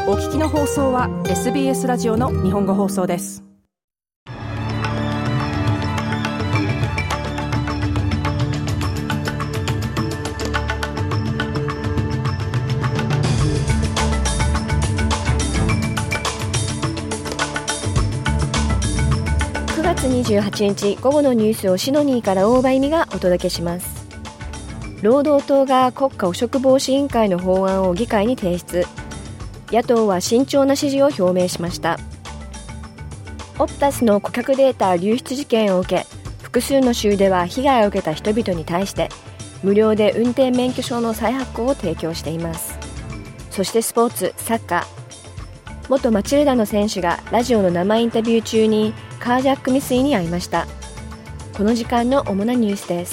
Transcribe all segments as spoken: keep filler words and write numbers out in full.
お聞きの放送は エスビーエス ラジオの日本語放送です。 くがつにじゅうはちにち午後のニュースをシドニーから大場恵美がお届けします。労働党が国家汚職防止委員会の法案を議会に提出。野党は慎重な支持を表明しました。オプタスの顧客データ流出事件を受け、複数の州では被害を受けた人々に対して無料で運転免許証の再発行を提供しています。そしてスポーツ、サッカー。元マチルダの選手がラジオの生インタビュー中にカージャック未遂に遭いました。この時間の主なニュースです。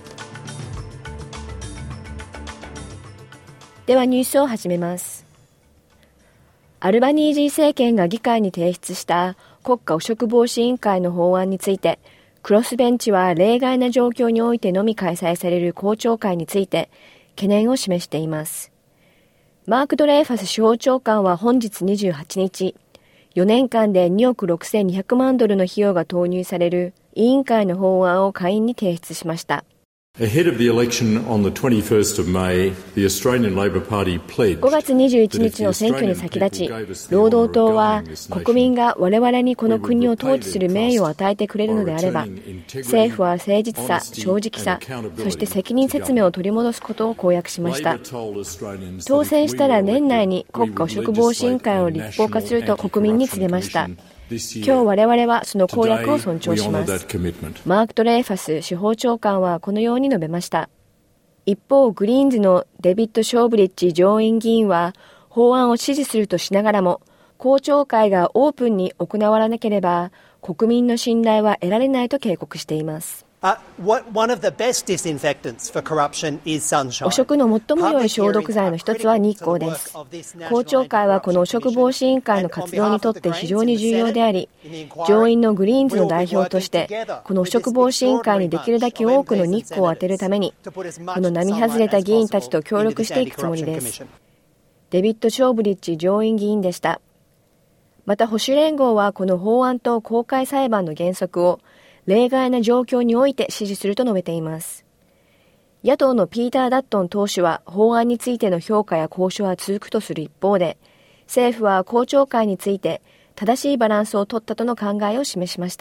ではニュースを始めます。アルバニージー政権が議会に提出した国家汚職防止委員会の法案について、クロスベンチは例外な状況においてのみ開催される公聴会について懸念を示しています。マーク・ドレーファス司法長官は本日にじゅうはちにち、よねんかんでにおくろくせんにひゃくまんドルの費用が投入される委員会の法案を下院に提出しました。 Ahead of the election on the twenty-first of May, the Australian Labor Party pledged ごがつにじゅういちにちの選挙に先立ち、労働党は国民が我々にこの国を統治する名誉を与えてくれるのであれば、政府は誠実さ、正直さ、そして責任説明を取り戻すことを公約しました。当選したら年内に国家汚職防止委員会を立法化すると国民に告げました。今日我々はその公約を尊重します。マーク・ドレーファス司法長官はこのように述べました。一方、グリーンズのデビッド・ショーブリッジ上院議員は法案を支持するとしながらも、公聴会がオープンに行われなければ国民の信頼は得られないと警告しています。 Uh, what, one of the best disinfectants for corruption is sunshine. 汚職の最も良い消毒剤の一つは日光です。公聴会はこの汚職防止委員会の活動にとって非常に重要であり、上院のグリーンズの代表としてこの汚職防止委員会にできるだけ多くの日光を当てるためにこの並外れた議員たちと協力していくつもりです。デビッド・ショーブリッジ上院議員でした。また保守連合はこの法案と公開裁判の原則を例外な状況において支持すると述べています。野党のピーター・ダットン党首は法案についての評価や交渉は続くとする一方で、政府は公聴会について正しいバランスを取ったとの考えを示しました。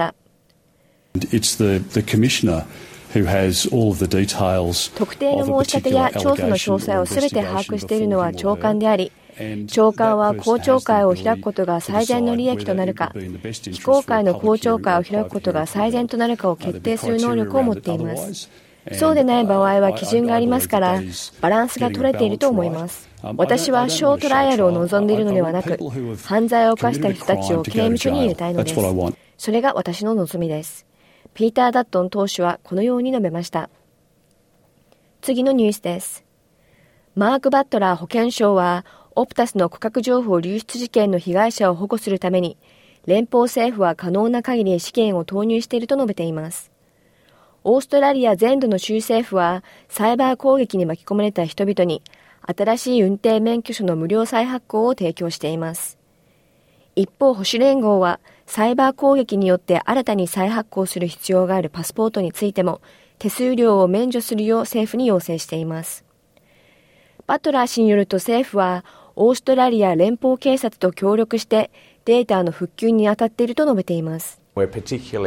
It's the, the commissioner who has all of the details 特定の申し立てや調査の詳細をすべて把握しているのは長官であり、長官は公聴会を開くことが最善の利益となるか、非公開の公聴会を開くことが最善となるかを決定する能力を持っています。そうでない場合は基準がありますから、バランスが取れていると思います。私はショートライアルを望んでいるのではなく、犯罪を犯した人たちを刑務所に入れたいのです。それが私の望みです。ピーター・ダットン党首はこのように述べました。次のニュースです。マーク・バットラー保健相は、オプタスの顧客情報流出事件の被害者を保護するために、連邦政府は可能な限り資金を投入していると述べています。オーストラリア全土の州政府は、サイバー攻撃に巻き込まれた人々に、新しい運転免許証の無料再発行を提供しています。一方、保守連合は、サイバー攻撃によって新たに再発行する必要があるパスポートについても、手数料を免除するよう政府に要請しています。バトラー氏によると政府は、オーストラリア連邦警察と協力してデータの復旧に当たっていると述べています。この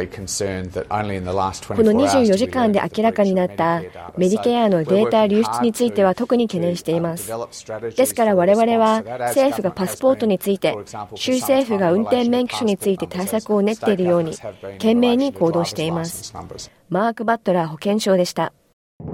にじゅうよじかんで明らかになったメディケアのデータ流出については特に懸念しています。ですから我々は政府がパスポートについて、州政府が運転免許証について対策を練っているように懸命に行動しています。マーク・バットラー保健相でした。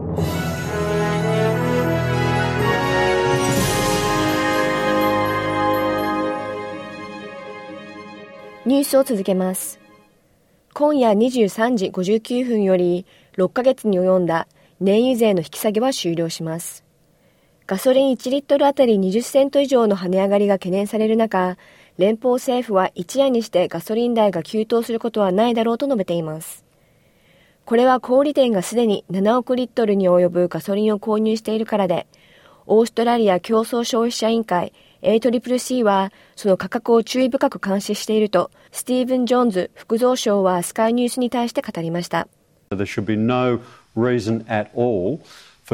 ニュースを続けます。今夜にじゅうさんじごじゅうきゅうふんよりろっかげつに及んだ燃油税の引き下げは終了します。ガソリンいちリットルあたりにじゅっセント以上の跳ね上がりが懸念される中、連邦政府は一夜にしてガソリン代が急騰することはないだろうと述べています。これは小売店がすでにななおくリットルに及ぶガソリンを購入しているからで、オーストラリア競争消費者委員会エーシーシーシー はその価格を注意深く監視しているとスティーブン・ジョーンズ副蔵相はスカイニュースに対して語りました。 There should be no reason at all今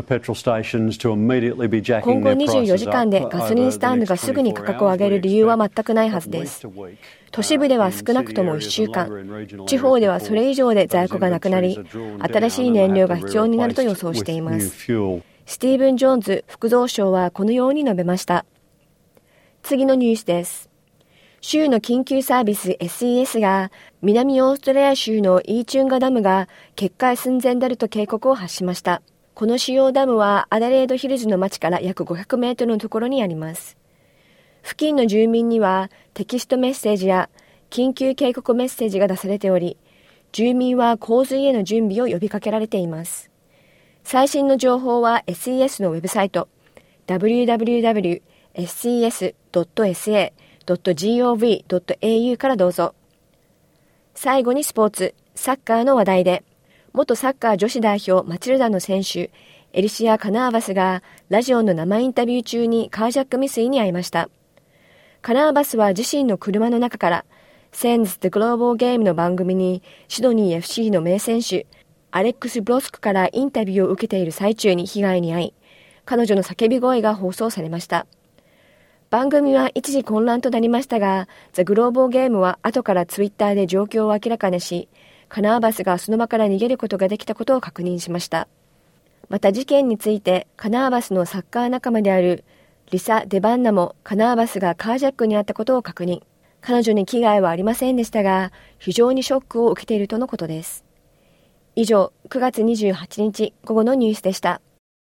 後にじゅうよじかんでガソリンスタンドがすぐに価格を上げる理由は全くないはずです。都市部では少なくともいっしゅうかん、地方ではそれ以上で在庫がなくなり、新しい燃料が必要になると予想しています。スティーブン・ジョーンズ副蔵相はこのように述べました。次のニュースです。州の緊急サービス エスイーエス が南オーストラリア州のイーチュンガダムが決壊寸前であると警告を発しました。この主要ダムはアダレードヒルズの町から約ごひゃくメートルのところにあります。付近の住民にはテキストメッセージや緊急警告メッセージが出されており、住民は洪水への準備を呼びかけられています。最新の情報は エスイーエス のウェブサイト ダブリューダブリューダブリュードットエスイーエスドットエスエードットゴブドットエーユー からどうぞ。最後にスポーツ、サッカーの話題で、元サッカー女子代表マチルダの選手エリシア・カナーバスがラジオの生インタビュー中にカージャック未遂に遭いました。カナーバスは自身の車の中からセンズ・デ・グローバル・ゲームの番組にシドニー エフシー の名選手アレックス・ブロスクからインタビューを受けている最中に被害に遭い、彼女の叫び声が放送されました。番組は一時混乱となりましたが、ザ・グローバル・ゲームは後からツイッターで状況を明らかにし、カナーバスがその場から逃げることができたことを確認しました。また事件についてカナーバスのサッカー仲間であるリサ・デバンナもカナーバスがカージャックにあったことを確認。彼女に危害はありませんでしたが、非常にショックを受けているとのことです。以上、くがつにじゅうはちにち午後のニュースでした。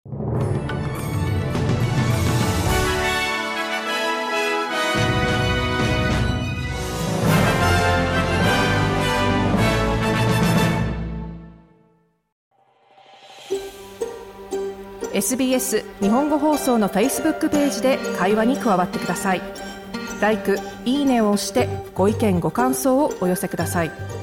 エスビーエス 日本語放送の Facebook ページで会話に加わってください。ライク、いいねを押してご意見ご感想をお寄せください。